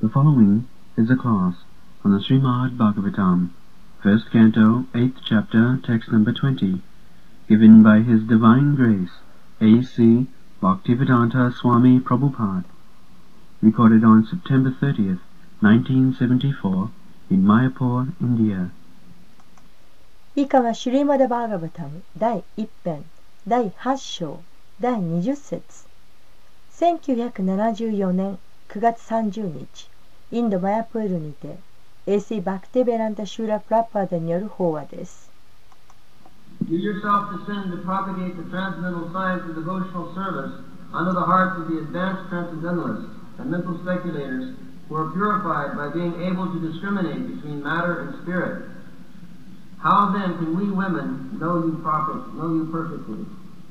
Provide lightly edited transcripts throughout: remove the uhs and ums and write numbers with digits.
The following is a class on the Srimad Bhagavatam, first canto, 8th chapter, text number 20, given by His Divine Grace, A.C. Bhaktivedanta Swami Prabhupada, recorded on September 30th, 1974, in Mayapur, India. 以下はシュリーマダ・バーガバタム第1編第8章第20節1974年9月30日インドマヤプールにて A.C. バクティベランタ・シューラ・プラッパーダによる法話です。 You yourself descend to propagate the transcendental science of devotional service under the hearts of the advanced transcendentalists and mental speculators who are purified by being able to discriminate between matter and spirit. How then can we women know you perfectly?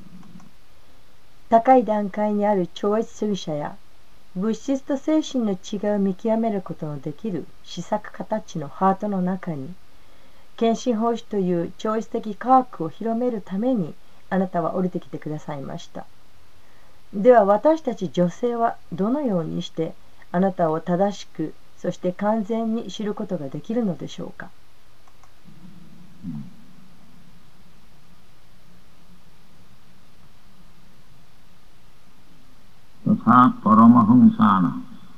高い段階にある超越主義者や物質と精神の違いを見極めることのできる思索形のハートの中に献身奉仕という超越的科学を広めるためにあなたは降りてきてくださいました。では私たち女性はどのようにしてあなたを正しくそして完全に知ることができるのでしょうか。 तथा परमहंसाना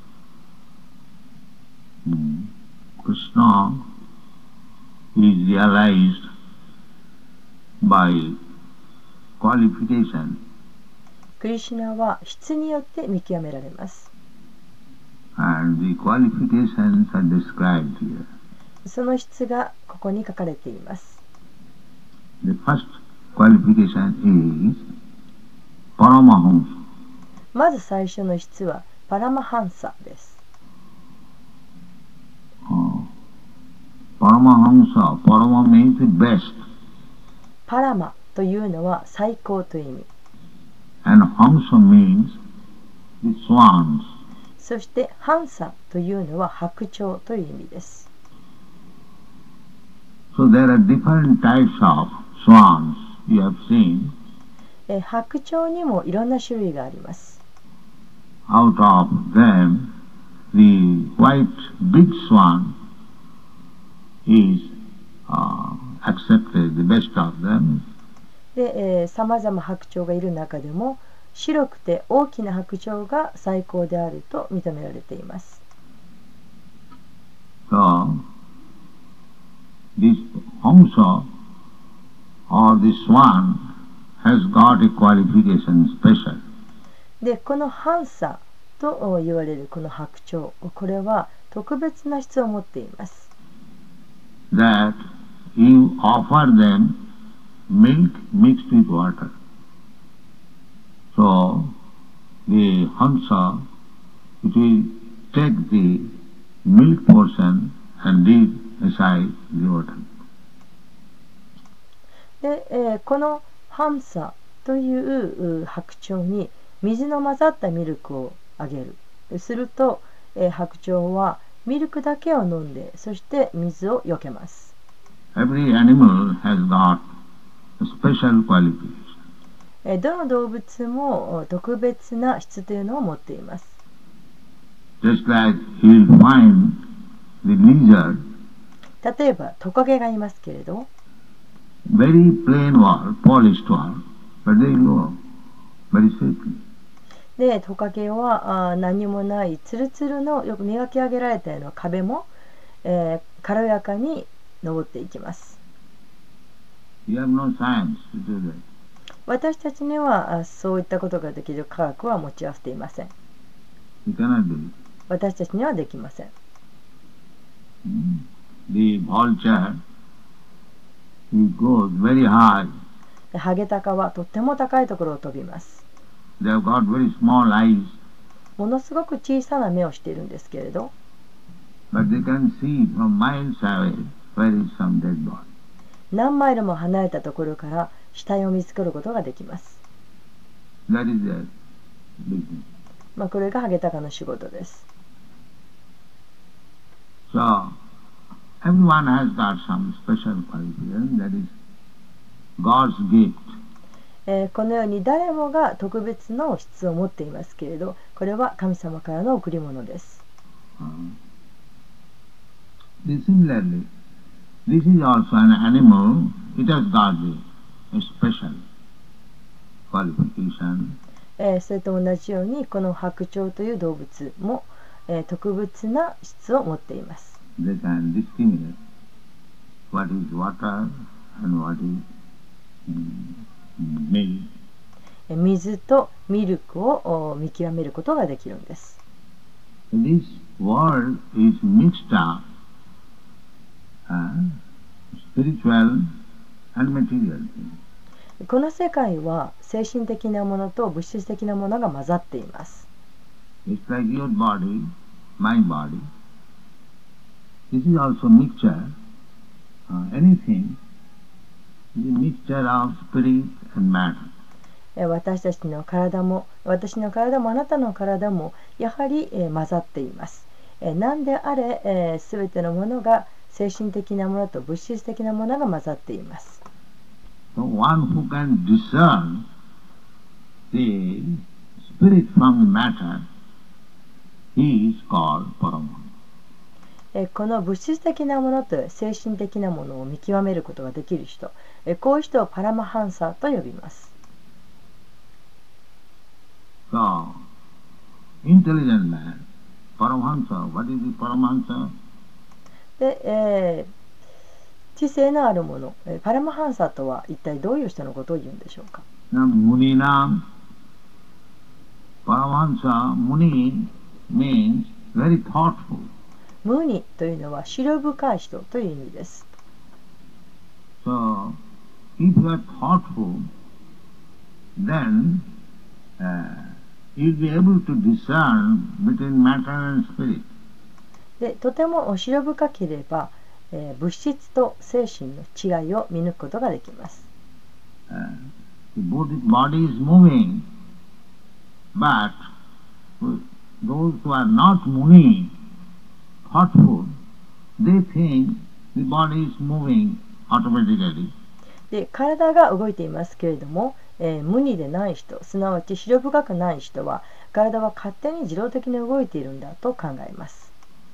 Krishna is realized by qualification. クリシュナは質によって見極められます。 And the qualifications are described here. その質がここに書かれています。 The first qualification is Paramahamsa. まず最初の質はパラマハンサです。 Paramahamsa, Parama means best. パラマというのは最高という意味。 And Hamsa means the swans. そしてハンサというのは白鳥という意味です。 So there are different types of swans you have seen. 白鳥にもいろんな種類があります。 Out of them, the white big swan is accepted, the best of them. で、さまざま白鳥がいる中でも白くて大きな白鳥が最高であると認められています。 So, this Hamsa or the swan has got a qualification special. で、このハンサと言われるこの白鳥、これは特別な質を持っています。 That you offer them milk mixed with water. So, the Hamsa, it will take the milk portion and leave aside the water. で、このハンサという白鳥に水の混ざったミルクをあげる。すると、白鳥はミルクだけを飲んで、そして水をよけます。 Every animal has got a special qualification. どの動物も特別な質というのを持っています。 Just like you will find the lizard, 例えばトカゲがいますけれど、 very plain wall, polished wall, but they go very safely. で、トカゲは何もないツルツルのよく磨き上げられたような壁も、軽やかに登っていきます。 You have no science to do that. 私たちにはそういったことができる科学は持ち合わせていません。 You cannot do it. 私たちにはできません。 The vulture, he goes very high. ハゲタカはとっても高いところを飛びます。 They have got very small eyes, ものすごく小さな目をしているんですけれど、 but they can see from miles away where is some dead body. 何マイルも離れたところから死体を見つけることができます。 That is their business. これがハゲタカの仕事です。 So, everyone has got some special qualification, that is God's gift. このように誰もが特別の質を持っていますけれど、これは神様からの贈り物です。 Similarly, this is also an animal. It has got a special qualification. それと同じようにこの白鳥という動物も、特別な質を持っています。 They can discriminate what is water and what is milk. 水とミルクを見極めることができるんです。 This world is mixed up, spiritual and material. この世界は精神的なものと物質的なものが混ざっています。 It's like your body, my body. This is also mixture. Anything is a mixture of spirit and matter. 私たちの体も、私の体もあなたの体もやはり混ざっています。何であれ、すべてのものが精神的なものと物質的なものが混ざっています。 So one who can discern the spirit from the matter, he is called Paramahansa. この物質的なものと精神的なものを見極めることができる人、こういう人をパラマハンサと呼びます。 So, intelligent man, Paramahansa, what is the Paramahansa? で、知性のあるもの、パラマハンサとは一体どういう人のことを言うんでしょうか。 Muninam, Paramahansa, Muni means very thoughtful. ムニというのは思慮深い人という意味です。 So, if you are thoughtful, then you'll be able to discern between matter and spirit. で、とても思慮深ければ、物質と精神の違いを見抜くことができます。 The body is moving, but those who are not muni, thoughtful, they think the body is moving automatically. で、体が動いていますけれども、無にでない人、すなわち思慮深くない人は体は勝手に自動的に動いているんだと考えます。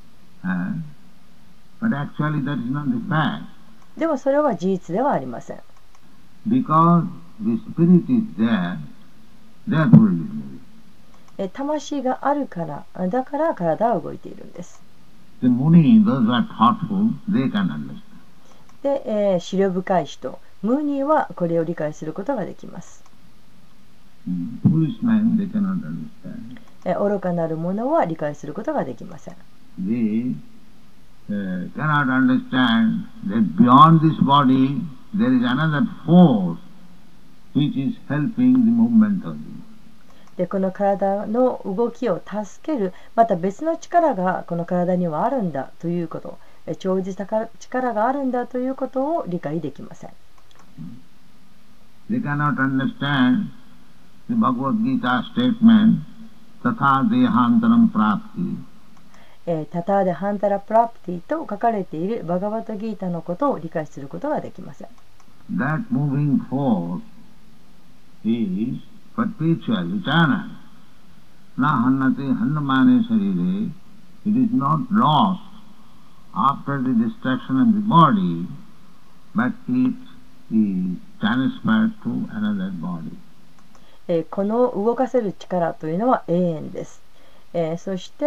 But actually that is not the fact. でもそれは事実ではありません。 Because the spirit is there, therefore it is moving. 魂があるから、だから体は動いているんです。 The muni, those who are thoughtful, they can understand. で、思慮深い人、ムーニーはこれを理解することができます。 Foolish man, they cannot understand. 愚かなる者は理解することができません。 They cannot understand that beyond this body there is another force which is helping the movement of it. で、この体の動きを助ける、また別の力がこの体にはあるんだということ、長寿した力があるんだということを理解できません。 They cannot understand the Bhagavad Gita statement, Tatha Dehantaram Prapti. タターデハンタラプラプティと書かれているバガバタギータのことを理解することができません。 That moving force is perpetual, eternal. Na hannate hannamane sarire. It is not lost after the destruction of the body, but it is transferred to another body. この動かせる力というのは永遠です。そして、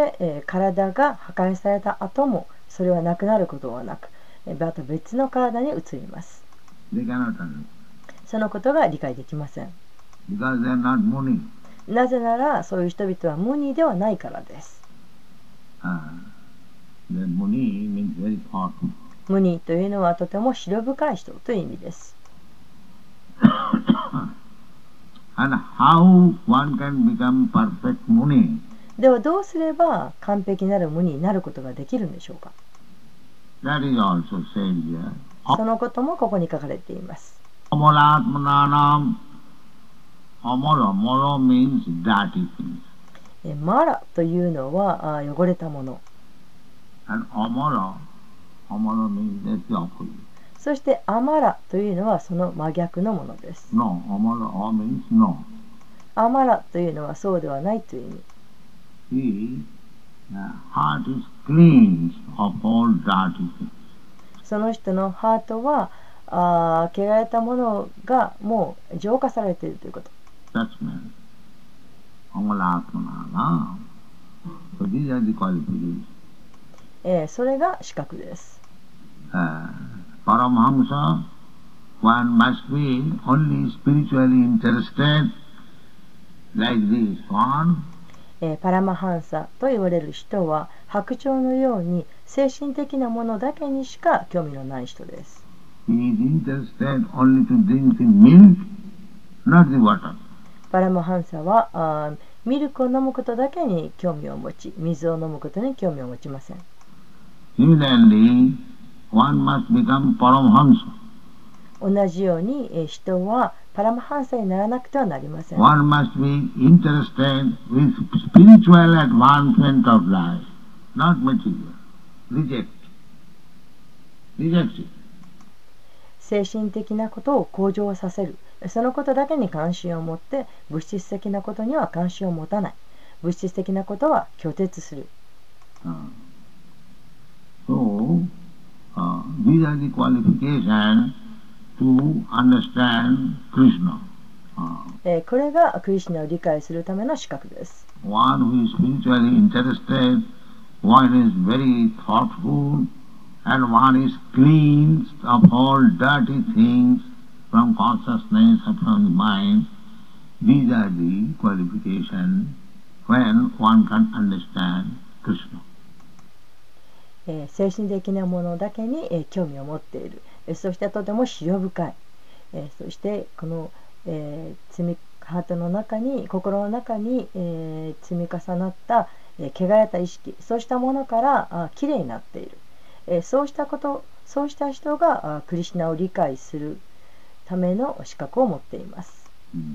体が破壊された後もそれはなくなることはなく、また別の体に移ります。そのことが理解できません。なぜならそういう人々は無ニではないからです。無ニというのはとても思慮深い人という意味です。 And how one can become perfect muni? ではどうすれば完璧なる無になることができるんでしょうか。 That is also said here. そのこともここに書かれています。 Amalatmananam. Amara means dirty things. マラというのは汚れたもの。 And amara means that's the opposite. そしてアマラというのはその真逆のものです。 No, amara means no. アマラというのはそうではないという意味。 The heart is cleansed of all dirty things. その人のハートは汚れたものがもう浄化されているということ。 That's meant. Amalatmanana. So these are the qualifications. それが資格です。 Paramahamsa, one must be only spiritually interested, like this one. パラマハンサと言われる人は白鳥のように精神的なものだけにしか興味のない人です。 He is interested only to drink the milk, not the water. パラマハンサはミルクを飲むことだけに興味を持ち、水を飲むことに興味を持ちません。 Similarly, one must become Paramahamsa. 同じように人はパラマハンサにならなくてはなりません。 One must be interested with spiritual advancement of life, not material. Reject it. 精神的なことを向上させる。そのことだけに関心を持って物質的なことには関心を持たない。物質的なことは拒絶する。 So, these are the qualifications to understand Krishna. これがクリシュナを理解するための資格です。 One who is spiritually interested, one is very thoughtful, and one is cleansed of all dirty things from consciousness or from the mind. These are the qualifications when one can understand Krishna. 精神的なものだけに興味を持っている。そしてとても思慮深い。そしてこのハートの中に、心の中に積み重なった汚れた意識、そうしたものからきれいになっている。そうした人がクリシュナを理解するための資格を持っています。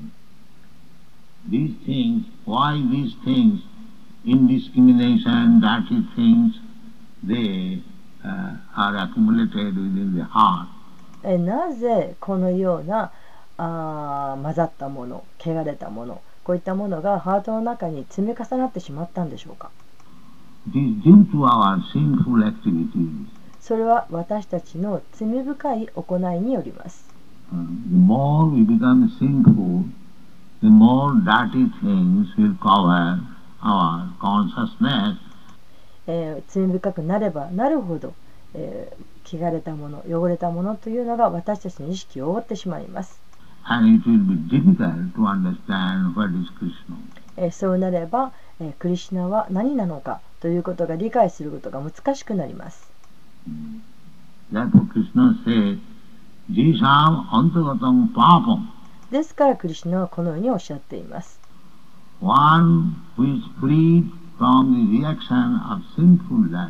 These things, why these things, indiscrimination, dirty things, they are accumulated within the heart. なぜこのような混ざったもの、汚れたもの、こういったものがハートの中に積み重なってしまったんでしょうか。 It is due to our sinful activities. それは私たちの罪深い行いによります。 The more we become sinful, the more dirty things will cover our consciousness. 罪深くなればなるほど、汚れたもの、汚れたものというのが私たちの意識を覆ってしまいます。 And it will be difficult to understand what is Krishna. そうなれば、クリシュナは何なのかということが理解することが難しくなります。 Therefore Krishna said, Jisam antagatam papam. ですからクリシュナはこのようにおっしゃっています。 One who is freed from the reaction of sinful life.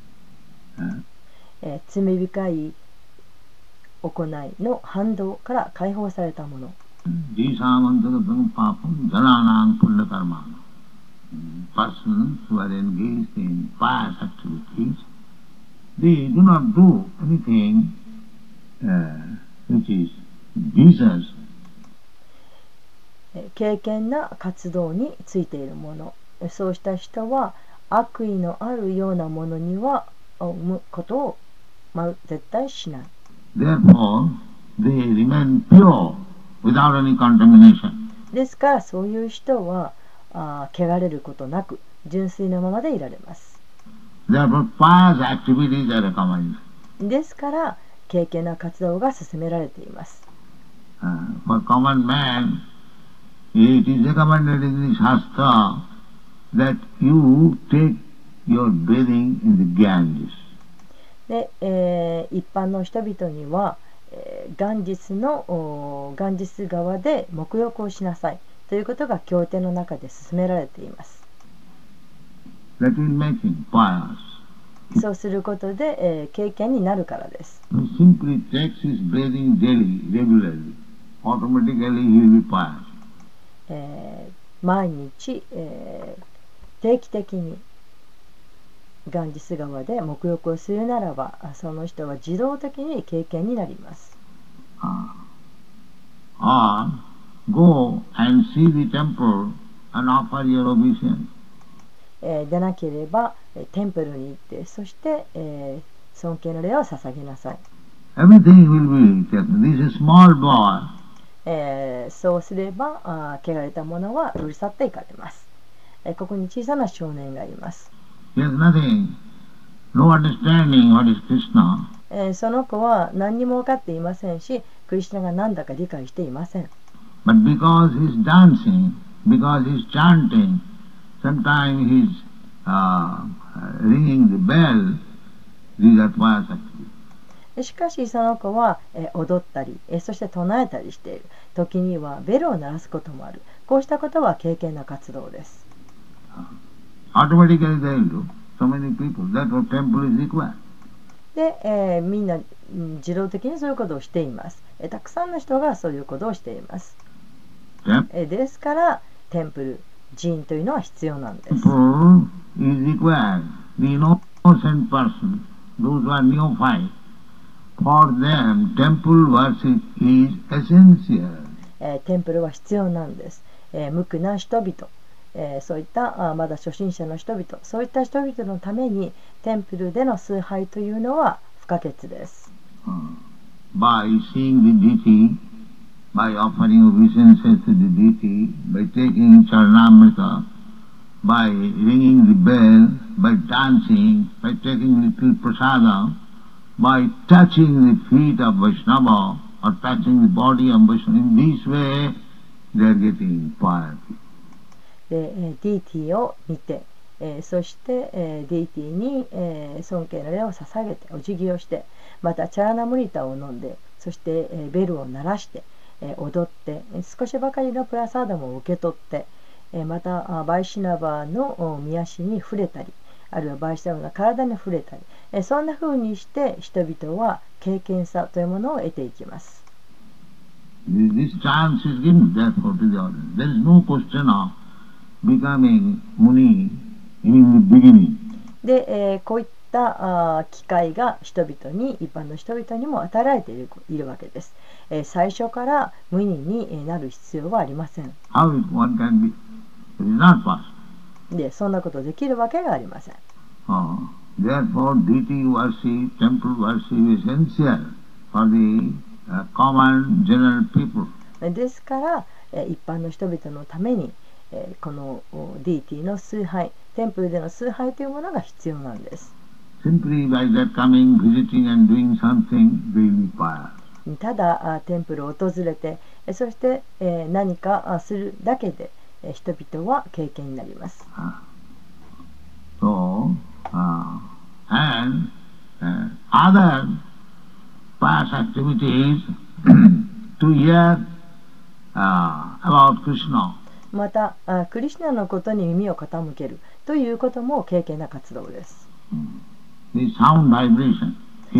罪深い行いの反動から解放されたもの。 Jisam papam jananang punyakarmana. Persons who are engaged in pious activities, they do not do anything which is vicious. 敬虔な活動についているもの、そうした人は悪意のあるようなものには生むことを絶対しない。 Therefore, they remain pure without any contamination. ですからそういう人は汚れることなく純粋なままでいられます。 Therefore, pious activities are recommended. ですから敬虔な活動が勧められています。 For common man, it is recommended in the Shastra that you take your bathing in the Ganges. で、一般の人々には、ガンジス川で沐浴をしなさいということが経典の中で勧められています。 That will make him pious. そうすることで、敬虔になるからです。 He simply takes his bathing daily, regularly. Automatically he will be pious. 毎日、定期的にガンジス川で沐浴をするならば、その人は自動的に敬虔になります。 Or go and see the temple and offer your obeisance. でなければテンプルに行って、そして、尊敬の礼を捧げなさい。 Everything will be taken. This is small boy. そうすれば汚れたものは取り去っていかれます。ここに小さな少年がいます。 He has nothing, no understanding what is Krishna. その子は何にも分かっていませんし、クリシュナが何だか理解していません。 But because he is dancing, because he is chanting, sometimes he is ringing the bell, these are Payasakti. しかしその子は踊ったり、そして唱えたりしている。時にはベルを鳴らすこともある。こうしたことは敬虔な活動です。 Automatically they will do. So many people, that's what temple is required. で、みんな自動的にそういうことをしています。たくさんの人がそういうことをしています。ですからテンプル、寺院というのは必要なんです。 Temple is required. The innocent person, those who are neophyte, for them temple worship is essential. テンプルは必要なんです。無垢な人々、そういったまだ初心者の人々、そういった人々のためにテンプルでの崇拝というのは不可欠です。 By seeing the deity, by offering obeisances to the deity, by taking charanamrita, by ringing the bell, by dancing, by taking little prasada, by touching the feet of Vaishnava or touching the body of Vaishnava, in this way they are getting piety. で、ディーティを見て、そして、ディーティに、尊敬の礼を捧げてお辞儀をして、またチャラナムリタを飲んで、そして、ベルを鳴らして、踊って、少しばかりのプラサーダも受け取って、またバイシナバの御足に触れたり、あるいはバイシナバの体に触れたり、そんな風にして人々は敬虔さというものを得ていきます。 This chance is given therefore to the audience. There is no question of becoming Muni in the beginning. で、こういった機会が人々に、一般の人々にも与えられているわけです。最初から無二になる必要はありません。 How one can be? It is not possible. で、そんなことできるわけがありません。 Therefore, deity worship, temple worship is essential for the common general people. ですから、一般の人々のために、このディーティの崇拝、テンプルでの崇拝というものが必要なんです。 Simply by that coming, visiting and doing something, they will be pious. ただテンプルを訪れて、そして何かするだけで人々は敬虔になります。 So, and other pious activities to hear about Krishna. またクリシュナのことに耳を傾けるということも敬虔な活動です。 The sound vibration.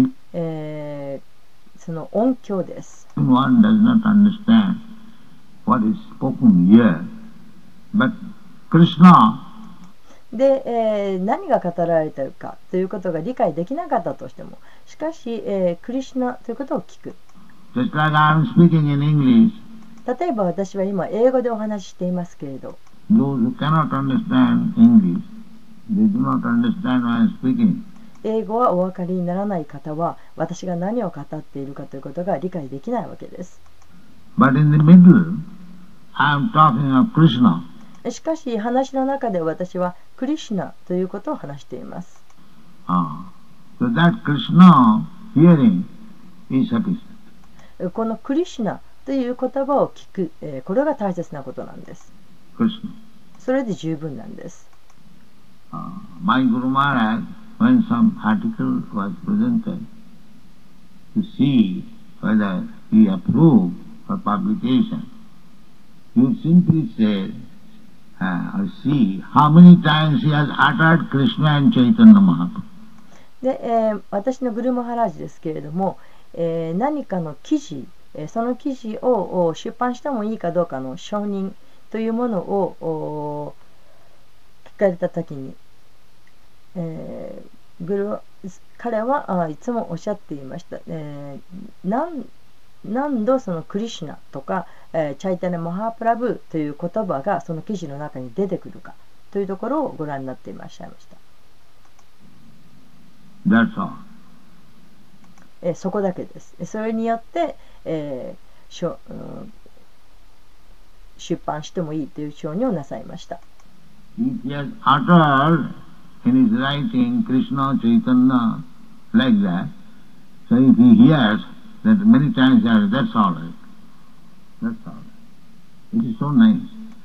その音響です。 One does not understand what is spoken here, but Krishna. で、何が語られているかということが理解できなかったとしても、しかし、クリシュナということを聞く。 Just like I am speaking in English. 例えば私は今英語でお話ししていますけれど、 those who cannot understand English, they do not understand what I am speaking. 英語はお分かりにならない方は私が何を語っているかということが理解できないわけです。 But in the middle, I am talking of Krishna. しかし話の中で私はクリシュナということを話しています。 So that Krishna hearing is sufficient. このクリシュナという言葉を聞く、これが大切なことなんです。 Krishna. それで十分なんです。 My Guru Maharaj, when some article was presented to see whether he approved for publication, he would simply say, see how many times he has uttered Krishna and Chaitanya Mahaprabhu. で、私のグルマハラージですけれども、何かの記事、その記事を出版してもいいかどうかの承認というものを聞かれたときに、彼はいつもおっしゃっていました。何度そのクリシュナとか、チャイタネ・マハプラブという言葉がその記事の中に出てくるかとというところをご覧になっていらっしゃいました。 That's all. そこだけです。それによって、出版してもいいという承認をなさいました。 If he has uttered in his writing Krishna Chaitanya like that, so if he hears that many times, that's all right. That's all right. It is so nice.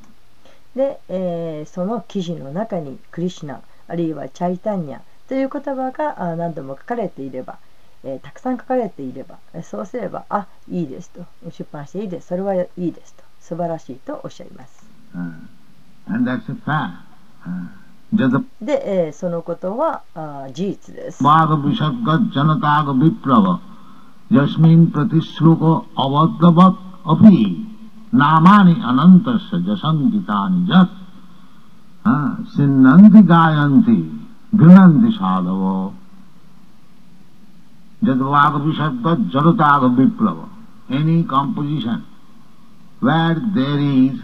で、その記事の中にクリシュナあるいはチャイタンニャという言葉が何度も書かれていれば、たくさん書かれていれば、そうすればいいですと、出版していいです、それはいいですと、素晴らしいとおっしゃいます。 And that's a fact. で、そのことは事実です。 バーガビシャッガジャナタガビプラバジャスミンプラティスロコアワッダバッアピーナマニアナンタサジャサンギタニジャッシンナンティガヤンティグナンティシャダボジャドワガビシャッガジャナタガビプラバ any composition where there is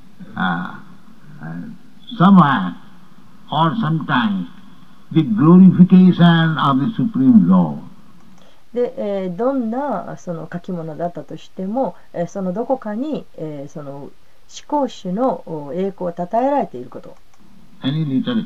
somewhere or sometimes the glorification of the Supreme Law. で、どんなその書き物だったとしても、そのどこかに、その思考主の栄光を称えられていること。 Any literature,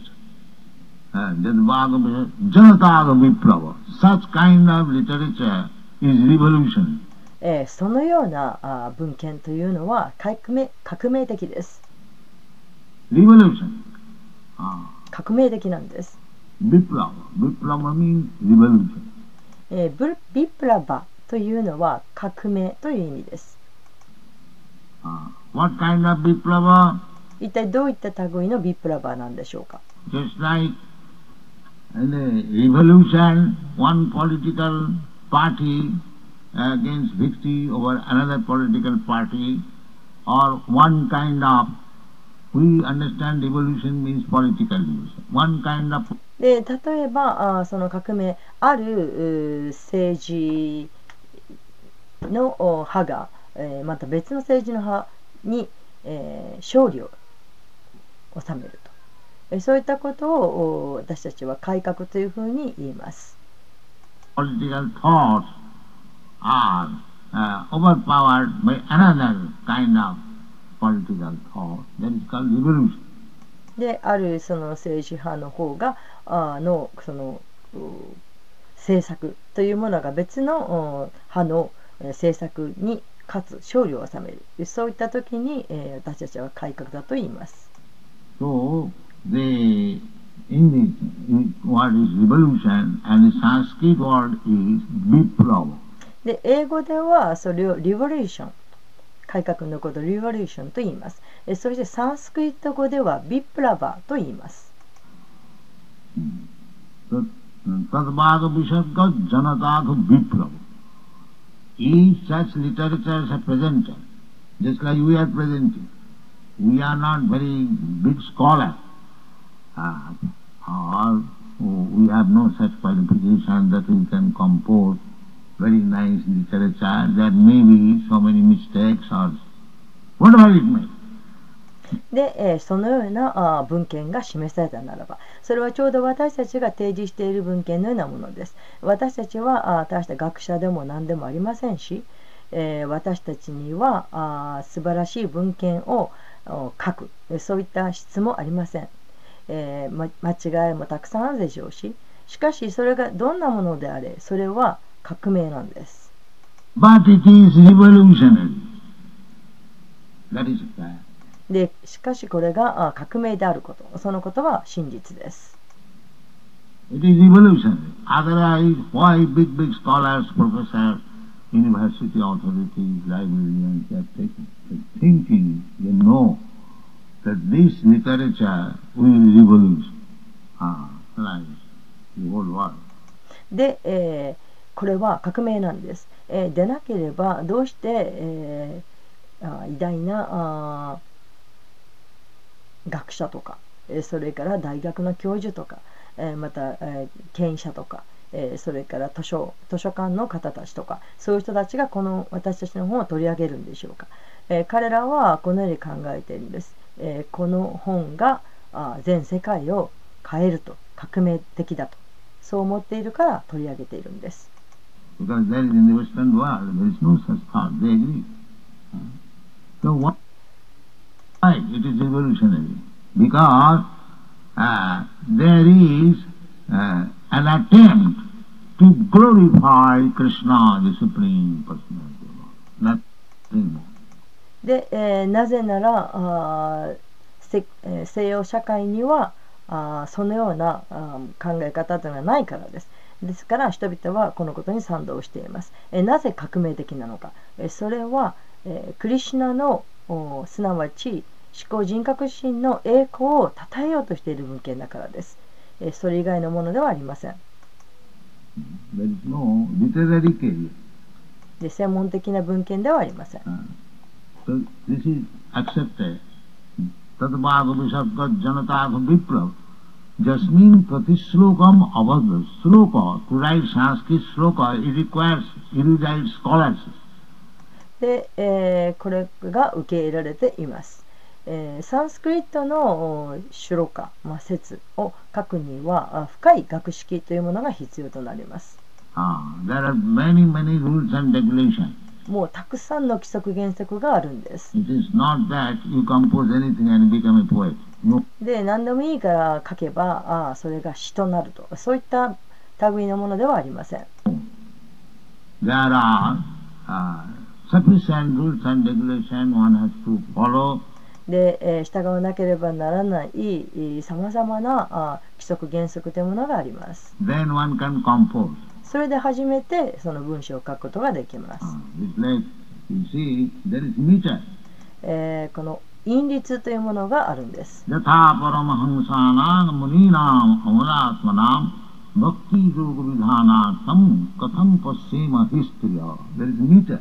Janataga Viprava, such kind of literature is revolution. そのような文献というのは革命的です。 Revolution. 革命的なんです。 Viprava. Viprava means revolution. ビプラバというのは革命という意味です。 What kind of Viprava? 一体どういった類のビプラバなんでしょうか。 Just like in a revolution, one political party against victory over another political party, or one kind of, we understand revolution means political revolution. One kind of で例えばその革命ある政治の派が、また別の政治の派に、勝利を収めると、そういったことを私たちは改革というふうに言います。 Political thoughts are overpowered by another kind of political thought that is called revolution. であるその政治派の方がのその政策というものが別の派の政策に勝つ勝利を収める、そういった時に私たちは改革だと言います。 So in the word is revolution and the Sanskrit word is viprava. で英語ではそれをリボリューション、改革のことをリボリューションと言います。そしてサンスクリット語ではビプラバと言います。 Tadvaga Vishadga Janataga Viprava. Each such literatures are presented, just like we are presenting. We are not very big scholars, or we have no such qualification that we can compose very nice literature. There may be so many mistakes or whatever it may. で、そのような文献が示されたならば、それはちょうど私たちが提示している文献のようなものです。私たちは大した学者でも何でもありませんし、私たちには素晴らしい文献を書く、そういった質もありません。間違いもたくさんあるでしょうし、しかしそれがどんなものであれ、それは革命なんです。 But it is revolutionary. That is fact. でしかしこれが革命であること、そのことは真実です。 It is revolutionary. Otherwise, why big scholars, professors, university authorities, librarians, they are thinking, they know that this literature will revolutionize the whole world. で、これは革命なんです。でなければどうして、偉大な学者とか、それから大学の教授とか、また、権威者とか、それから図書館の方たちとか、そういう人たちがこの私たちの本を取り上げるんでしょうか。彼らはこのように考えているんです。この本が全世界を変えると、革命的だと、そう思っているから取り上げているんです。 Because there is in the Western world, there is no such thought. They agree. So why it is revolutionary? Because there is an attempt to glorify Krishna, the Supreme Personality of God. Nothing more. で、なぜなら西洋社会にはそのような考え方というのはないからです。ですから人々はこのことに賛同しています。なぜ革命的なのか。それはクリシュナのすなわち思考人格心の栄光を称えようとしている文献だからです。それ以外のものではありません。 There is no literary career. で、専門的な文献ではありません。 So this is accepted. Tatbhāga visarga janatādha viprav. Jasmin pratishlokam avadha sloka. To write Sanskrit sloka, it requires erudite scholars. で、これが受け入れられています。サンスクリットのシュロカ、説を書くには深い学識というものが必要となります。 There are many rules and regulations. もうたくさんの規則原則があるんです。 It is not that you compose anything and become a poet. No. で、何でもいいから書けばそれが詩となると、そういった類のものではありません。 There are sufficient rules and regulations one has to follow. で、従わなければならないさまざまな規則原則というものがあります。 Then one can compose. それで初めてその文章を書くことができます。 Like, you see, there is meter. この韻律というものがあるんです。 Yatha paramahamsanam muninam amuratmanam bhakti yoga vidhanatam katham pasyema histriya. There is meter.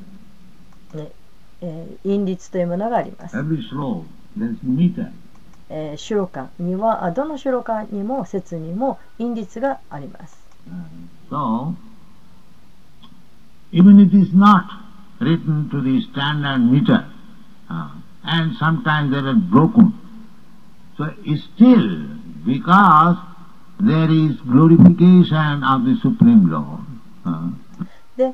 韻律というものがあります。 Every sloka, there is meter. シュロカにはどのシュロカにも節にも韻律があります。 So, even it is not written to the standard meter, and sometimes they are broken. So still, because there is glorification of the Supreme Lord. で、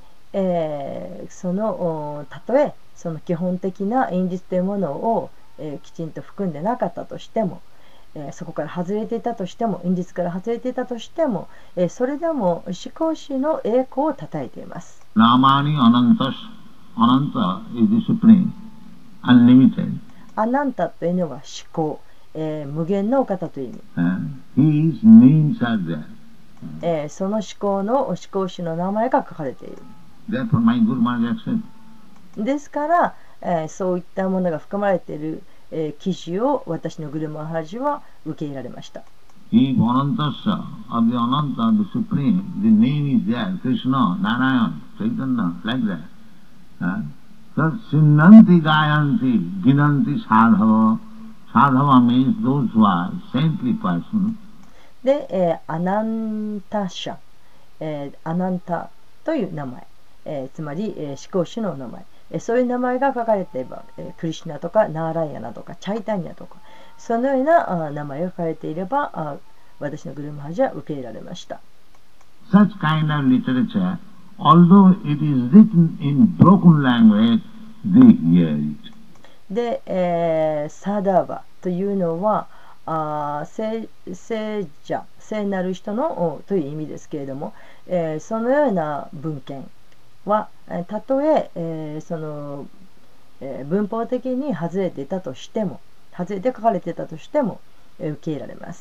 たとえその基本的な韻律というものを、きちんと含んでなかったとしても、そこから外れていたとしても、韻律から外れていたとしても、それでも思考主の栄光を称えています。 Namani Anantas, Ananta is the Supreme, unlimited. アナンタというのは思考、無限のお方という意味。 His names are there. その思考の思考主の名前が書かれている。 Therefore, my Guru Maharaj accepted. ですから、そういったものが含まれている記事を私のグルマハラジは受け入れられました。 If Anantasa of the Ananta, the Supreme, the name is there, Krishna, Narayan, Chaitanya, like that. So, Sinnanti Gayanti, Ginanti Sadhava. Sadhava means those who are saintly persons. で、アナンタシャ、アナンタという名前、つまり、思考主の名前。そういう名前が書かれていれば、クリシュナとかナーライアナとかチャイタニアとかそのような名前が書かれていれば私のグルマハジは受け入れられました。 Such kind of literature, although it is written in broken language, they hear it. で、サダーバというのは聖者、聖なる人のという意味ですけれども、そのような文献はたとえその、文法的に外れていたとしても、外れて書かれていたとしても、受け入れられます。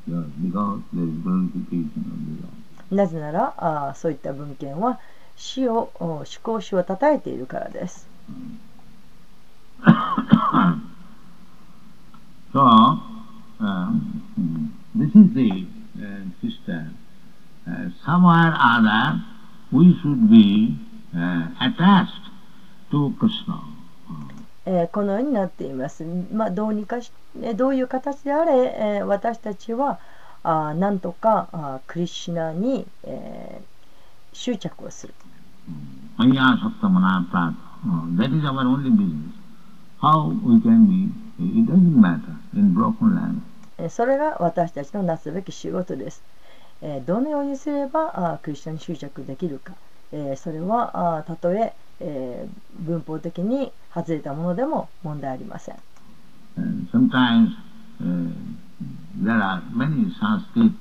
なぜならそういった文献は死を思考主を称えているからです。 So, this is the system. Somewhere or other, we should be attached to Krishna. このようになっています。どうにかしどういう形であれ、私たちはなんとかクリシュナに、執着をする。 That is our only business. How we can be, it doesn't matter in broken language. それが私たちのなすべき仕事です。どのようにすればクリスチャンに執着できるか、それはたとえ文法的に外れたものでも問題ありません。 Sometimes there are many Sanskrit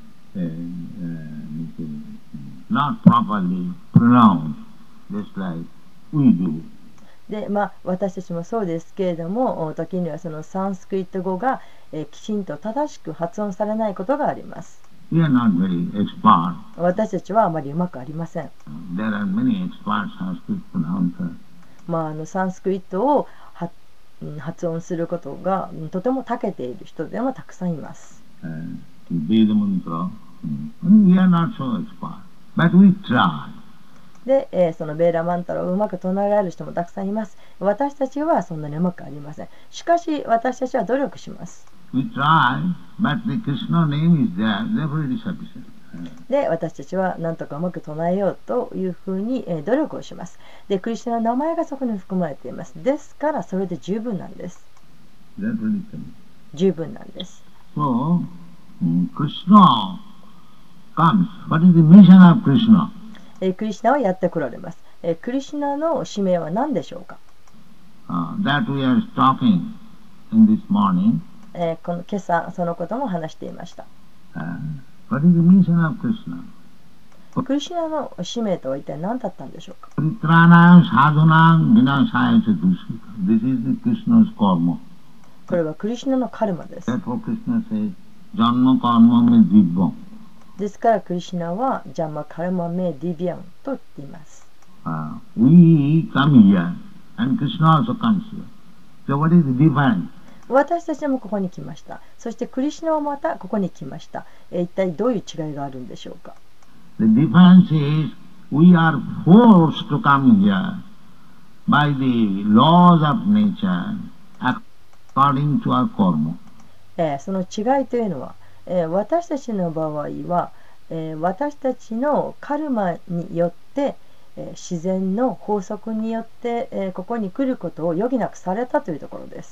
not properly pronounced, just like we do. で私たちもそうですけれども、時にはそのサンスクリット語が、きちんと正しく発音されないことがあります。 We are not very expert. 私たちはあまりうまくありません。 There are many expert Sanskrit pronouncers. サンスクリットを発音することがとても長けている人でもたくさんいます。 Veda mantra. We are not so expert, but we try. で、そのベーラマンタラをうまく唱えられる人もたくさんいます。私たちはそんなにうまくありません。しかし私たちは努力します。 We try, but the Krishna name is there, therefore it is sufficient. で、私たちは何とかうまく唱えようというふうに努力をします。で、クリスナの名前がそこに含まれています。ですからそれで十分なんです。十分なんです。 So, Krishna comes. What is the mission of Krishna? クリシナはやってこられます。クリシナの使命は何でしょうか。 That we are talking in this morning. この今朝そのことも話していました。 What is the mission of Krishna? クリシナの使命とは一体何だったんでしょうか。 This is the Krishna's karma. これはクリシナのカルマです。 Therefore Krishna says, Janma karma me divya. ですからクリシナはジャンマカルマメディビアンと言っています。 We come here and Krishna also comes here. So what is the difference? 私たちもここに来ました。そしてクリシナもまたここに来ました。一体どういう違いがあるんでしょうか。 The difference is we are forced to come here by the laws of nature according to our karma. その違いというのは、私たちの場合は、私たちのカルマによって、自然の法則によって、ここに来ることを余儀なくされたというところです。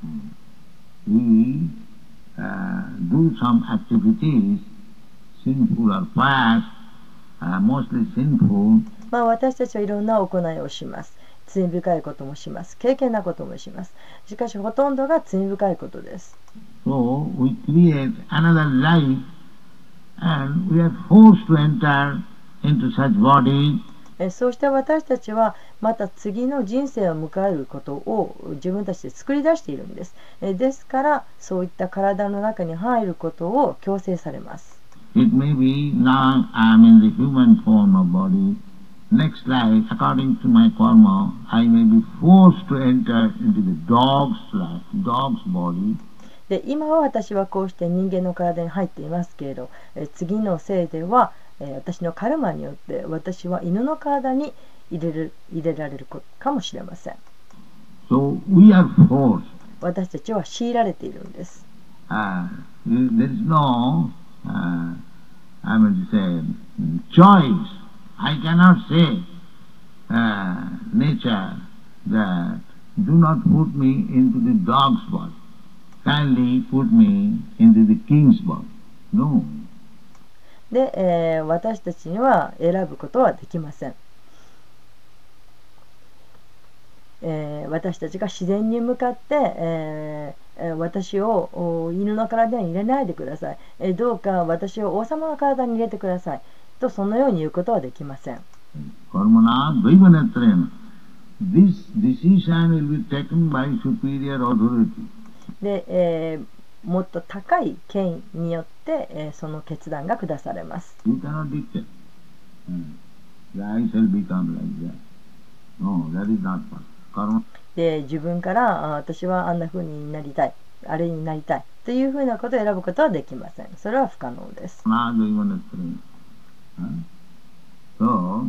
We do some activities, sinful or pious, mostly sinful. 私たちはいろんな行いをします。罪深いこともします。敬虔なこともします。しかしほとんどが罪深いことです。 So we create another life and we are forced to enter into such body. そうして私たちはまた次の人生を迎えることを自分たちで作り出しているんです。ですからそういった体の中に入ることを強制されます。 It may be now I am in the human form of body. Next life, according to my karma, I may be forced to enter into the dog's life, dog's body. で、今は私はこうして人間の体に入っていますけれど、次の生では、私のカルマによって私は犬の体に入れられるかもしれません。 So we are forced. 私たちは強いられているんです。 There is no, I would say, choice. I cannot say, nature, that do not put me into the dog's body. Kindly put me into the king's body. No. で、私たちには選ぶことはできません。私たちが自然に向かって、私を犬の体に入れないでください。どうか私を王様の体に入れてください。とそのように言うことはできません。 This decision will be taken by superior authority. で、もっと高い権威によって、その決断が下されます。 You cannot dictate. I shall become like that. No, that is not possible. で、自分から私はあんな風になりたい、あれになりたいというふうなことを選ぶことはできません。それは不可能です。 So,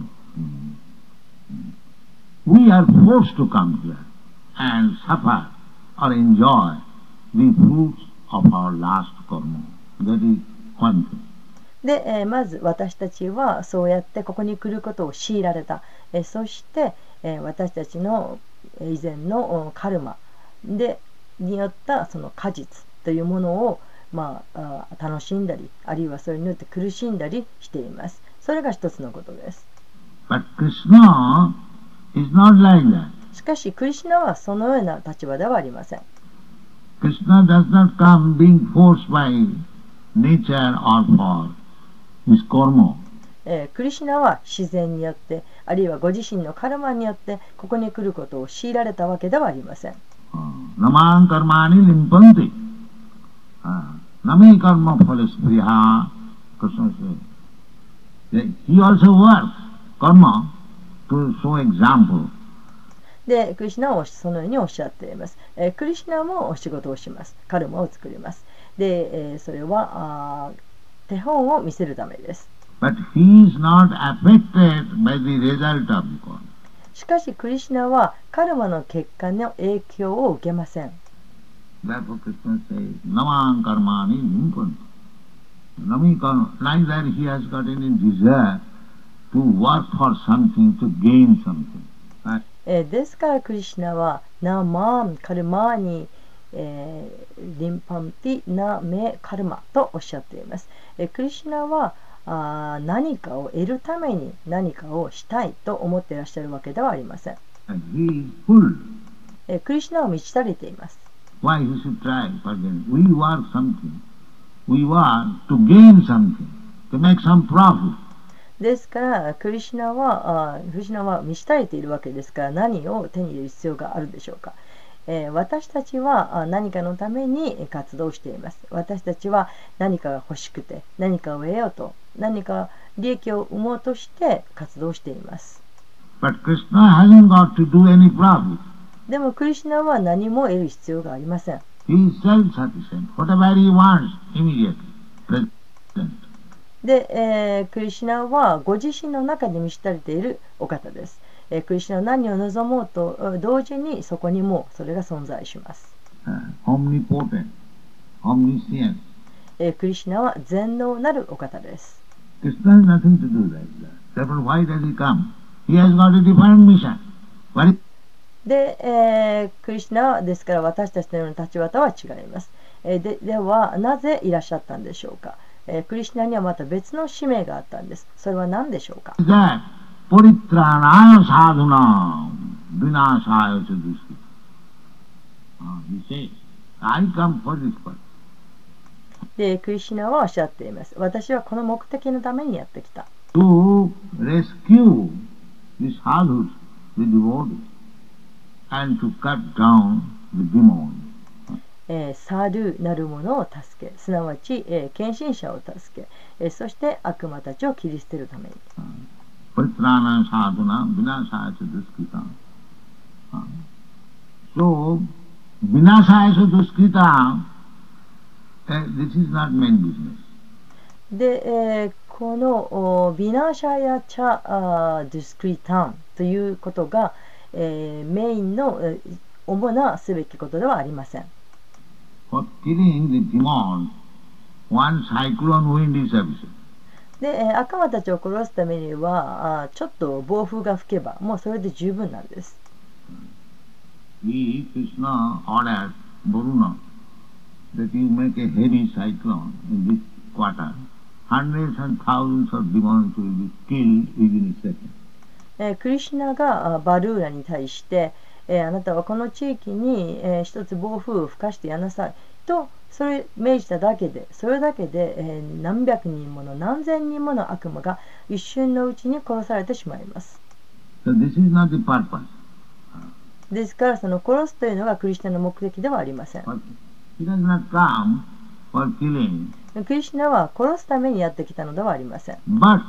we are forced to come here and suffer or enjoy the fruits of our last karma. That is one thing. で、まず私たちはそうやってここに来ることを強いられた。そして、私たちの以前のカルマでによったその果実というものを、 楽しんだり、あるいはそれによって苦しんだりしています。それが一つのことです。 But Krishna is not like that. しかしクリシュナはそのような立場ではありません。 Krishna does not come being forced by nature or for his karma. クリシュナは自然によって、あるいはご自身のカルマによってここに来ることを強いられたわけではありません。 Namang karmani limpanti. Nami karma phalas priha. Krishna says. He also works karma to show example. で、クリシュナはそのようにおっしゃっています。クリシュナもお仕事をします。カルマを作ります。で、それは手本を見せるためです。 But he is not affected by the result of the karma. しかしクリシュナはカルマの結果の影響を受けません。 Therefore Krishna says, Namang karmani limpanti. Nami karma, neither he has got any desire to work for something, to gain something. ですからクリシュナはナマンカルマーニリンパンティナメカルマとおっしゃっています。クリシュナは何かを得るために何かをしたいと思っていらっしゃるわけではありません。クリシュナは満ち足りています。 Why he should try again? We work something. We work to gain something, to make some profit. ですからクリシュナは満ち足りているわけですから、何を手に入れる必要があるでしょうか。私たちは何かのために活動しています。私たちは何かが欲しくて、何かを得ようと、何か利益を生もうとして活動しています。 But Krishna hasn't got to do any profit. でもクリシュナは何も得る必要がありません。 He is self-sufficient. Whatever he wants, immediately present. で、クリシュナはご自身の中で満ち足りているお方です。クリシュナは何を望もうと同時にそこにもそれが存在します。 Omnipotent, omniscient. クリシュナは全能なるお方です。 Krishna has nothing to do like that. Therefore, why does he come? He has got a different mission. で、クリシュナはですから私たちのような立場とは違います。ではなぜいらっしゃったんでしょうか。クリシュナにはまた別の使命があったんです。それは何でしょうか。 Paritranaya sadhuna vinashaya chaduskita. He says, I come for this purpose. で、クリシュナはおっしゃっています。私はこの目的のためにやってきた。 To rescue the sadhus, the devotees, and to cut down the demons. サルなるものを助け、すなわち、献身者を助け、そして悪魔たちを切り捨てるために。 Paritrana sadhuna vinashaya duskita. So, vinashaya duskita, this is not main business. で、このビナシャヤチャデュスクリタンということが、メインの主なすべきことではありません。 For killing the demons, one cyclone wind is sufficient. で、悪魔たちを殺すためにはちょっと暴風が吹けばもうそれで十分なんです。 He, Krishna, ordered Varuna that you make a heavy cyclone in this quarter. Hundreds and thousands of demons will be killed within a second. クリシュナがバルーラに対して、あなたはこの地域に、一つ暴風を吹かしてやなさいとそれ命じただけで、それだけで、何百人もの何千人もの悪魔が一瞬のうちに殺されてしまいます。 So this is not the purpose. ですからその殺すというのがクリシュナの目的ではありません。 He does not come for killing. クリシュナは殺すためにやってきたのではありません。 But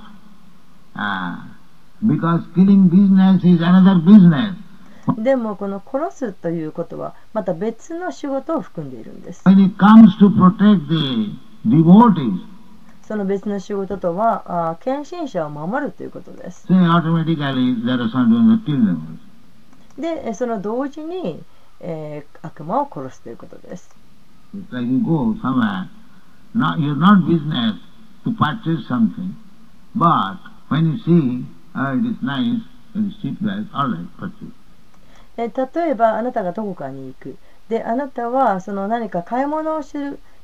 because killing business is another business. でもこの殺すということはまた別の仕事を含んでいるんです。 When it comes to protect the devotees, その別の仕事とは献身者を守るということです。 then automatically there are some that kill them. で、その同時に、悪魔を殺すということです。 It's like you go somewhere, you're not business to purchase something, but when you see, it is nice, it is cheap price, all right, purchase. 例えばあなたがどこかに行く。で、あなたはその何か買い物をする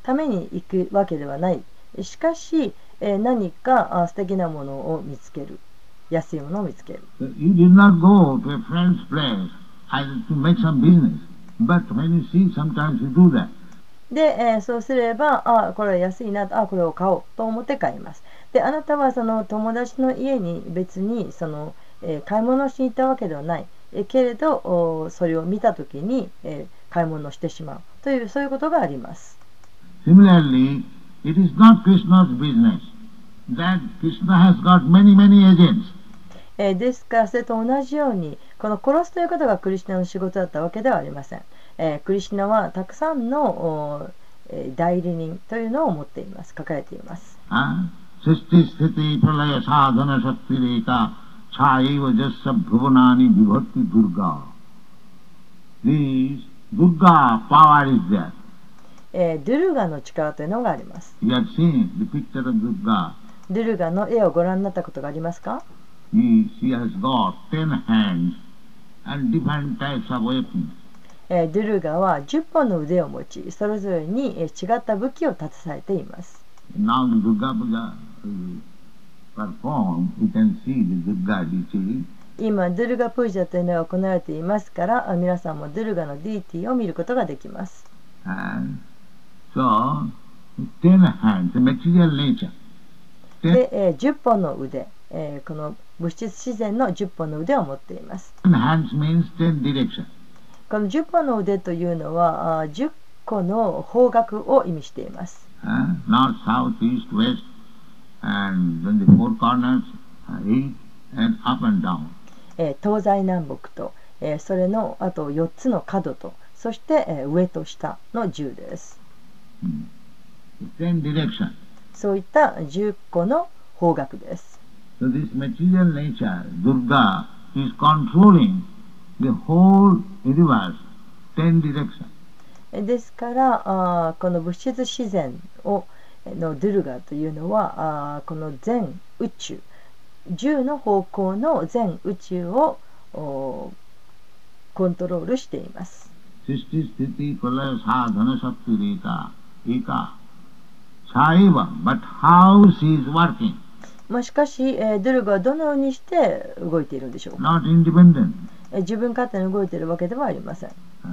ために行くわけではない。しかし、何か素敵なものを見つける。安いものを見つける。 You did not go to a friend's place to make some business, but when you see, sometimes you do that. で、そうすれば、これは安いなと、これを買おうと思って買います。で、あなたはその友達の家に別に買い物をしに行ったわけではない。けれど、それを見たときに、買い物をしてしまうという、そういうことがあります。 Similarly, it is not Krishna's business that Krishna has got many, many agents. ですから、それと同じように、この殺すということがクリシュナの仕事だったわけではありません。クリシュナはたくさんの代理人というのを持っています、抱えています。 Sisti sthiti pralaya sadhana shakti reka chaiva jassa bhuvanani vibhati durga. This Durga power is there. ドゥルガの力というのがあります。 You have seen the picture of Durga. ドゥルガの絵をご覧になったことがありますか？ She has got 10 hands and different types of weapons. ドゥルガは10本の腕を持ち、それぞれに違った武器を携えています。 Now the Durga Puja performed, you can see the Durga deity. 今、ドゥルガプージャというのが行われていますから、皆さんもドゥルガのディーティーを見ることができます。 And so, 10 hands, the material nature. で、10本の腕、この物質自然の10本の腕を持っています。 10 hands means 10 direction. この10本の腕というのは10個の方角を意味しています。 North, south, east, west, and then the four corners, east, and up and down. 東西南北と、それのあと4つの角と、そして、上と下の10です。 10 direction. そういった10個の方角です。 So this material nature, Durga, is controlling the whole universe, 10 direction. ですからこの物質自然のドゥルガというのはこの全宇宙10の方向の全宇宙をコントロールしています。 Sisti sthiti pralaya sadhana shakti reka eka chaiva, but how she is working? しかし、ドゥルガはどのようにして動いているんでしょうか。 Not independent. 自分勝手に動いているわけではありません。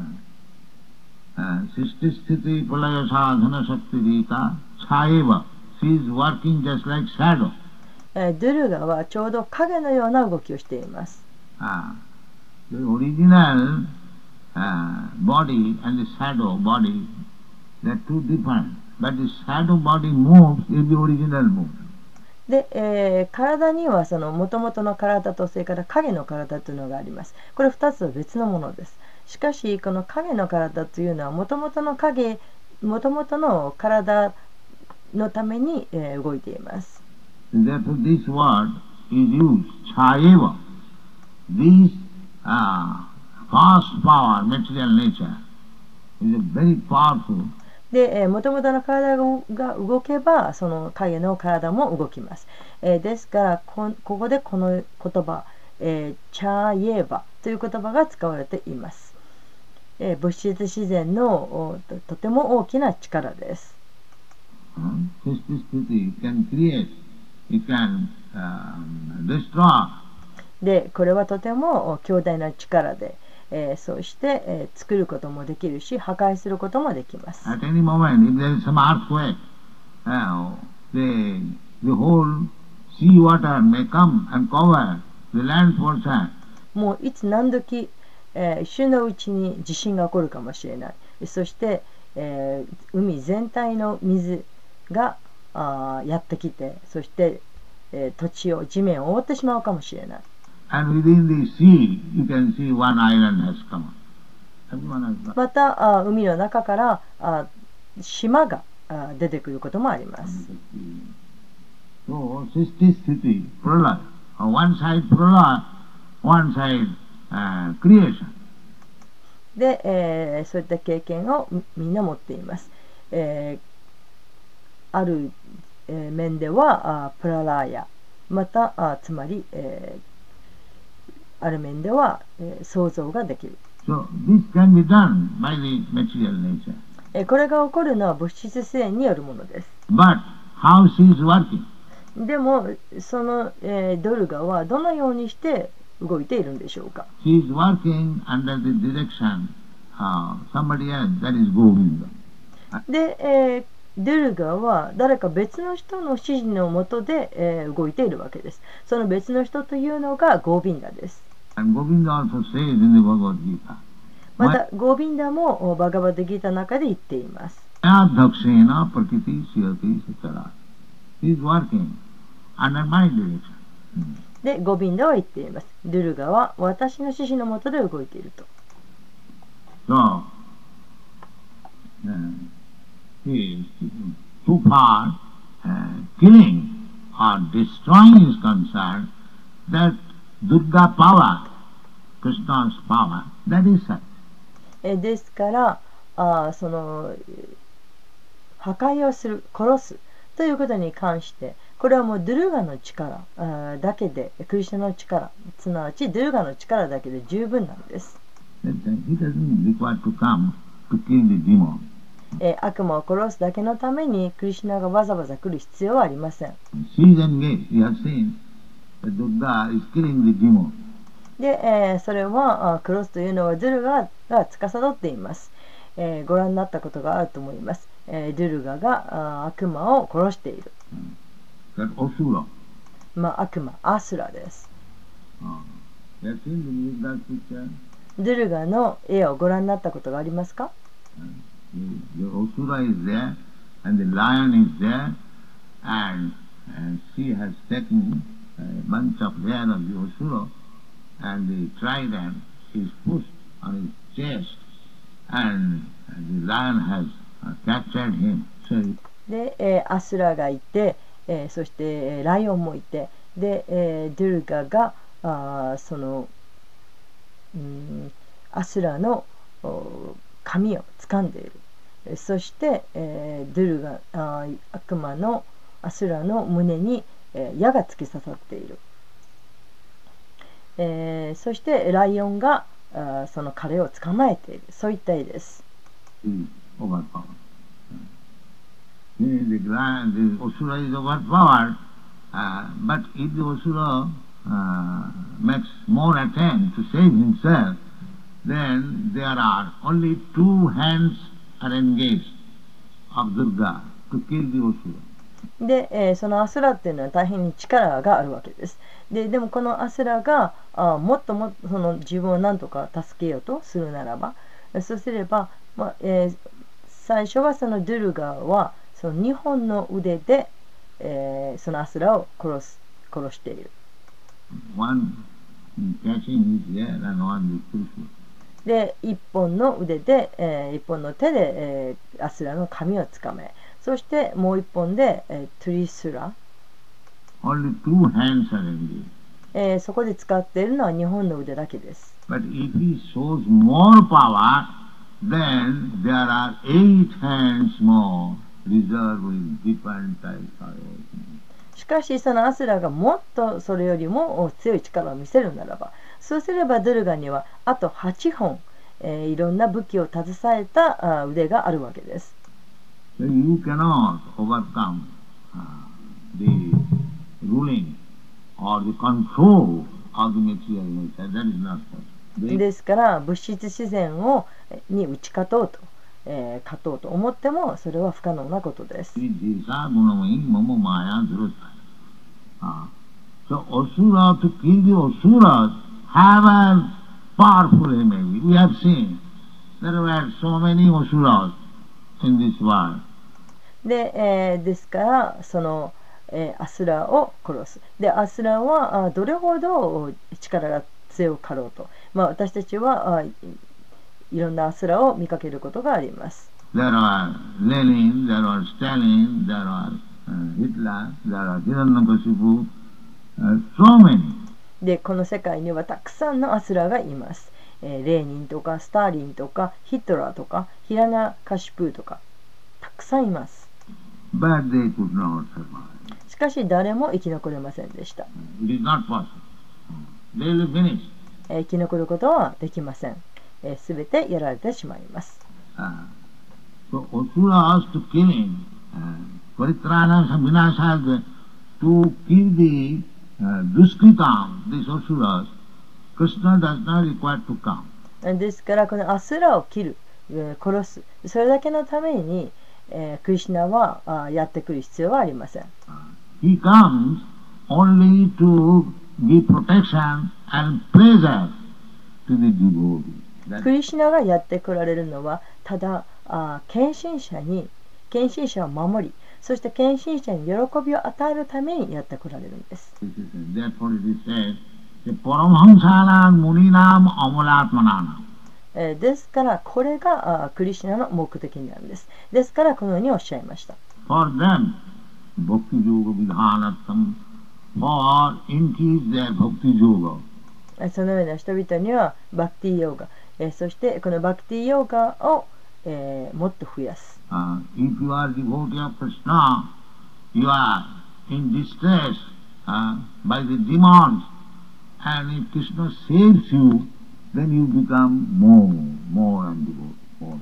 Sisti sthiti pralaya sadhana shakti reka chaiva, she is working just like shadow. ドゥルガはちょうど影のような動きをしています。 The original body and the shadow body, they are two different. But the shadow body moves if the original moves. で、体にはその元々の体とそれから影の体というのがあります。これ2つは別のものです。しかしこの影の体というのは元々の体のために、動いています。 Therefore this word is used, chaiva. This fast power, material nature, is a very powerful. で、元々の体が動けばその影の体も動きます。ですからここでこの言葉、チャイエーバという言葉が使われています。物質自然のとても大きな力です。で、これはとても強大な力で、そして、作ることもできるし、破壊することもできます。 At any moment, if there is some earthquake, the whole sea water may come and cover the land portion. もういつ何時、一瞬のうちに地震が起こるかもしれない。そして、海全体の水がやってきて、そして、土地を地面を覆ってしまうかもしれない。 And within the sea, you can see one island has come. また海の中から島が出てくることもあります。 So, Sisti Sthiti, Pralaya. One side Pralaya, one side creation. で、そういった経験をみんな持っています。ある、面ではプララーヤ、またつまり、ある面では、想像ができる。 So this can be done by the material nature. これが起こるのは物質自然によるものです。 But how she is working? でもその、ドルガはどのようにして動いているんでしょうか。 She is working under the direction of somebody else, that is Govinda. で、ドルガは誰か別の人の指示のもとで、動いているわけです。その別の人というのがゴービンダです。 And Govinda also says in the Bhagavad Gita, またゴービンダもバガバッドギータの中で言っています。 Adhakshena prakriti siyati sachara. He is working under my direction. でゴビンダは言っています。ドゥルガは私の指示のもとで動いていると。 So, he is too far killing or destroying is concerned, that Durga power, Krishna's power, that is such. ですからその破壊をする、殺すということに関して、これはもうドゥルガの力だけで、クリシュナの力、すなわちドゥルガの力だけで十分なんです。 He doesn't require to come to kill the demon. 悪魔を殺すだけのためにクリシュナがわざわざ来る必要はありません。 She is engaged. We have seen that Durga is killing the demon. で、それは殺すというのはドゥルガが司っています。ご覧になったことがあると思います。ドゥルガが悪魔を殺している。 That Asura. 悪魔、アスラです。 You have seen the picture? ドゥルガの絵をご覧になったことがありますか？ The Asura is there, and the lion is there, and she has taken a bunch of hair of the Asura, and the trident is pushed on his chest, and the lion has captured him. So で、アスラがいて、そして、ライオンもいて、で、ドゥルガがその、アスラの髪を掴んでいる。そして、ドゥルガ悪魔のアスラの胸に、矢が突き刺さっている。そしてライオンがその彼を捕まえている。そういった絵です。 The Asura is overpowered, but if the Asura makes more attempt to save himself, then there are only two hands are engaged of Durga to kill the Asura. で、そのアスラっていうのは大変に力があるわけです。でもこのアスラがもっともっとその自分を何とか助けようとするならば、そうすれば、最初はそのドゥルガはその2本の腕で、そのアスラを殺している。で、1本の腕で、1本の手で、アスラの髪をつかめ、そしてもう1本で、トゥリスラ、そこで使っているのは2本の腕だけです。 But if he shows more power, then there are 8 hands more reserved with different types of. しかしそのアスラがもっとそれよりも強い力を見せるならば、そうすればドゥルガにはあと8本、いろんな武器を携えた腕があるわけです。 So you cannot overcome the ruling or the control of the material nature. That is not possible. ですから物質自然に打ち勝とうと、勝とうと思ってもそれは不可能なことです。 So Asura, to kill the Asuras, have a powerful enemy. We have seen there were so many Asuras in this world. ですからその、アスラを殺す。で、アスラはどれほど力が強かろうと、私たちはいろんなアスラを見かけることがあります。 There are Lenin, there are Stalin, there are Hitler, there are Hiranyakashipu, so many. で、この世界にはたくさんのアスラがいます。レーニンとかスターリンとかヒトラーとかヒラナカシプーとかたくさんいます。 But they could not survive. しかし誰も生き残れませんでした。 It is not possible. They will finish. 生き残ることはできません。すべてやられてしまいます。 So Asuras to killing, Paritrana Vinashaya, to kill the Duskritam, these Asuras, Krishna does not require to come. ですからこのアスラを切る、殺す、それだけのために、クリシュナはやってくる必要はありません。 He comes only to give protection and pleasure to the devotee. クリシュナがやってこられるのはただ献身者を守り、そして献身者に喜びを与えるためにやってこられるんです。 Therefore it is said, Paramhamsanam Muninam Amalatmananam. ですからこれがクリシュナの目的なんです。ですからこのようにおっしゃいました。 For them, Bhakti Yoga Vidhanatam, for increase their Bhakti Yoga. そのような人々にはバクティヨーガ、そしてこのバクティヨーガを、もっと増やす。 If you are devotee of Krishna, you are in distress by the demons, and if Krishna saves you, then you become more and devoted.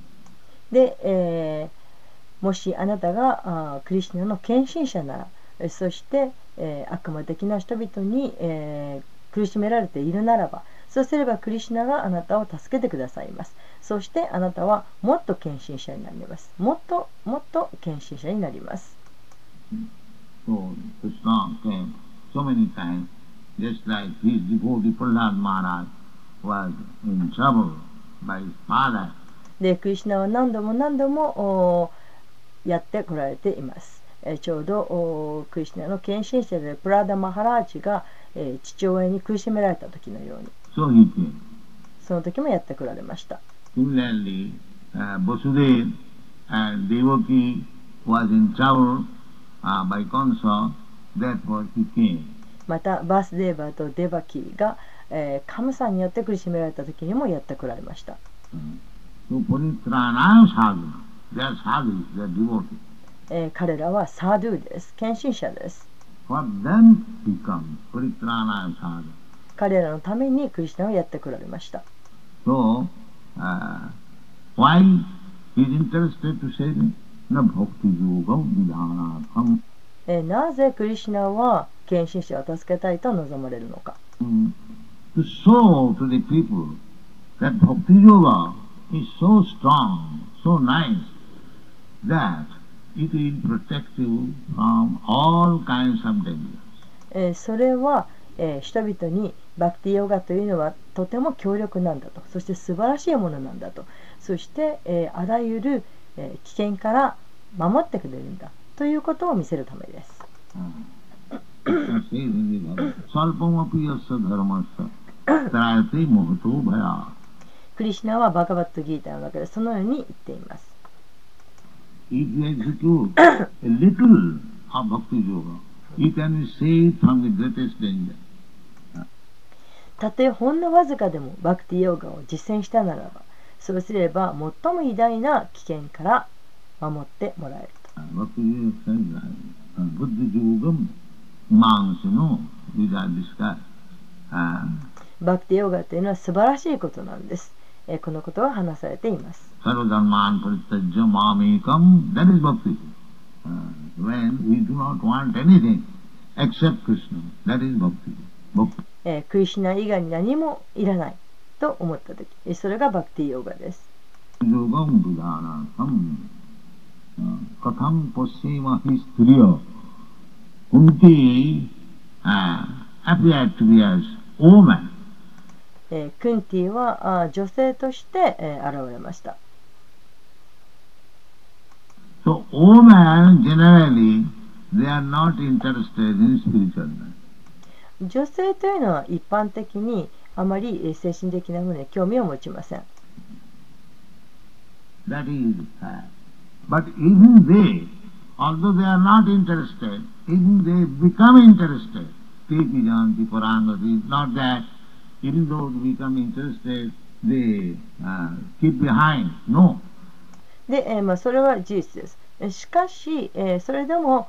で、もしあなたがクリシュナの献身者なら、そして、悪魔的な人々に、苦しめられているならば、そうすればクリシュナがあなたを助けてくださいます。そしてあなたはもっと献身者になります。もっと献身者になります。 So Krishna came so many times, just like his devotee Prahlad Maharaj was in trouble by his father. で、クリシュナは何度もやってこられています。ちょうどクリシュナの献身者でプラダ・マハラージが父親に苦しめられた時のように、その時もやってこられました。 Similarly, Vasudeva and Devaki was in trouble by Kamsa, therefore he came. またバスデーバとデバキが、カムサによって苦しめられた時にもやってこられました。 So Paritranaya sadhana, they are sadhus, they are devotees. 彼らはサードゥです。献身者です。 For them he comes, Paritranaya sadhana. 彼らのためにクリシュナをやってこられました。 So, why he is interested to say that? Na bhakti yoga vidhanatham. なぜクリシュナは献身者を助けたいと望まれるのか。 To show to the people that bhakti yoga is so strong, so nice, that it will protect you from all kinds of dangers. それは、人々にバクティヨガというのはとても強力なんだと、そして素晴らしいものなんだと、そして、あらゆる、危険から守ってくれるんだということを見せるためです。クリシュナはバガバットギータの中でそのように言っています。 If you execute a little of bhakti yoga, you can save from the greatest danger. たとえほんのわずかでもバクティヨガを実践したならば、そうすれば最も偉大な危険から守ってもらえると。バクティヨガというのは素晴らしいことなんです。このことが話されています。クリシュナ以外に何もいらないと思ったとき、それがバクティヨガです。クンティは女性として現れました。 So, women generally they are not interested in spiritual life. 女性というのは一般的にあまり精神的なものに興味を持ちません。 That is fact. But even they, although they are not interested, even they become interested. Tepijanti Parangati, not that even though they become interested, they keep behind. No. で、それは事実です。しかし、それでも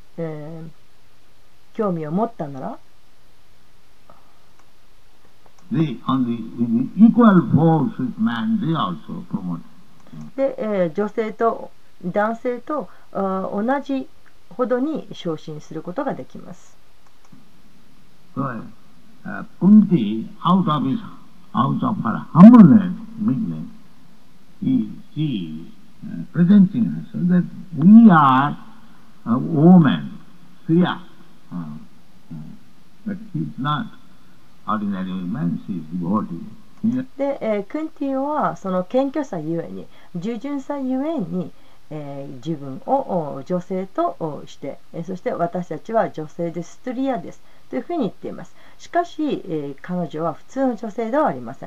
興味を持ったなら、 they with the equal force with man, they also promote. で、女性と男性と同じほどに昇進することができます。 So, Kunti, out of her humbleness, meekness, she presenting herself that we are a woman, Sriya. But she is not ordinary woman, she is devotee. で、クンティはその謙虚さゆえに、従順さゆえに、自分を女性として、そして私たちは女性です、ストリアですというふうに言っています。しかし、彼女は普通の女性ではありません。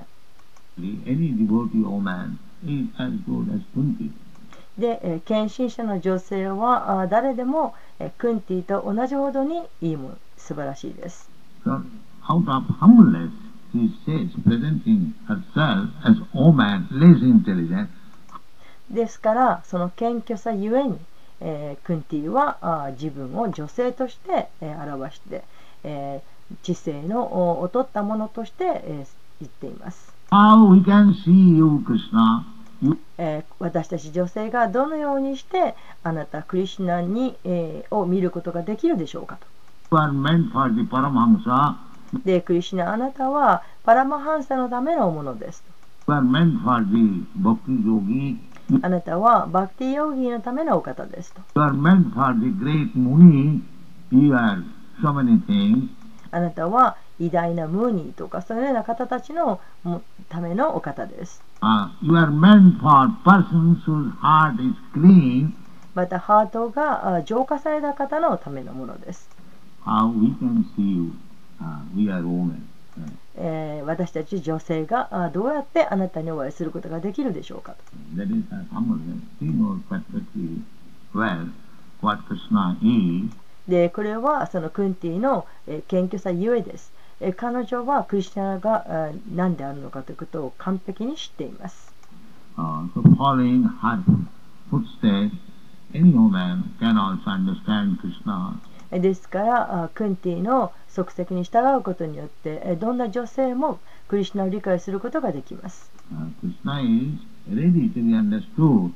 で、献身者の女性は誰でもクンティと同じほどにいいもの、素晴らしいです。 So, out of humbleness, she says, presenting herself as woman, less intelligent. ですからその謙虚さゆえに、クンティは自分を女性として、表して、知性の劣ったものとして、言っています。 How we can see you, Krishna? 私たち女性がどのようにしてあなたクリシュナに、を見ることができるでしょうかと。 You are meant for the Paramahamsa. で、クリシュナ、あなたはパラマハンサのためのものです。 You are meant for the Bhakti Yogi. あなたはバクティヨギーのためのお方ですと。 You are meant for the great Muni. You are so many things. あなたは偉大なムーニーとかそういうような方たちのためのお方です。 You are meant for persons whose heart is clean. またハートが浄化された方のためのものです。 How we can see you? We are women. 私たち女性がどうやってあなたにお会いすることができるでしょうかと。 That is her humbleness. She knows perfectly well what Krishna is. で、これはそのクンティの謙虚さゆえです。彼女はクリシュナが何であるのかということを完璧に知っています。 So following her footsteps, any woman can also understand Krishna. ですからクンティの足跡に従うことによってどんな女性もクリシュナを理解することができます。 Krishna is ready to be understood.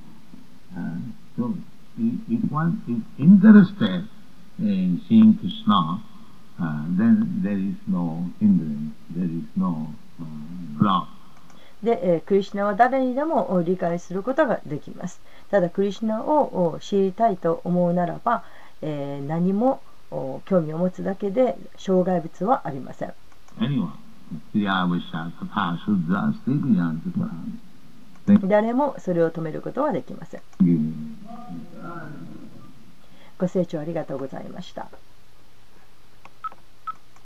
So if one is interested in seeing Krishna, then there is no hindrance, there is no block. で、クリシュナは誰にでも理解することができます。ただクリシュナを知りたいと思うならば、何も興味を持つだけで障害物はありません。誰もそれを止めることはできません。ご清聴ありがとうございました。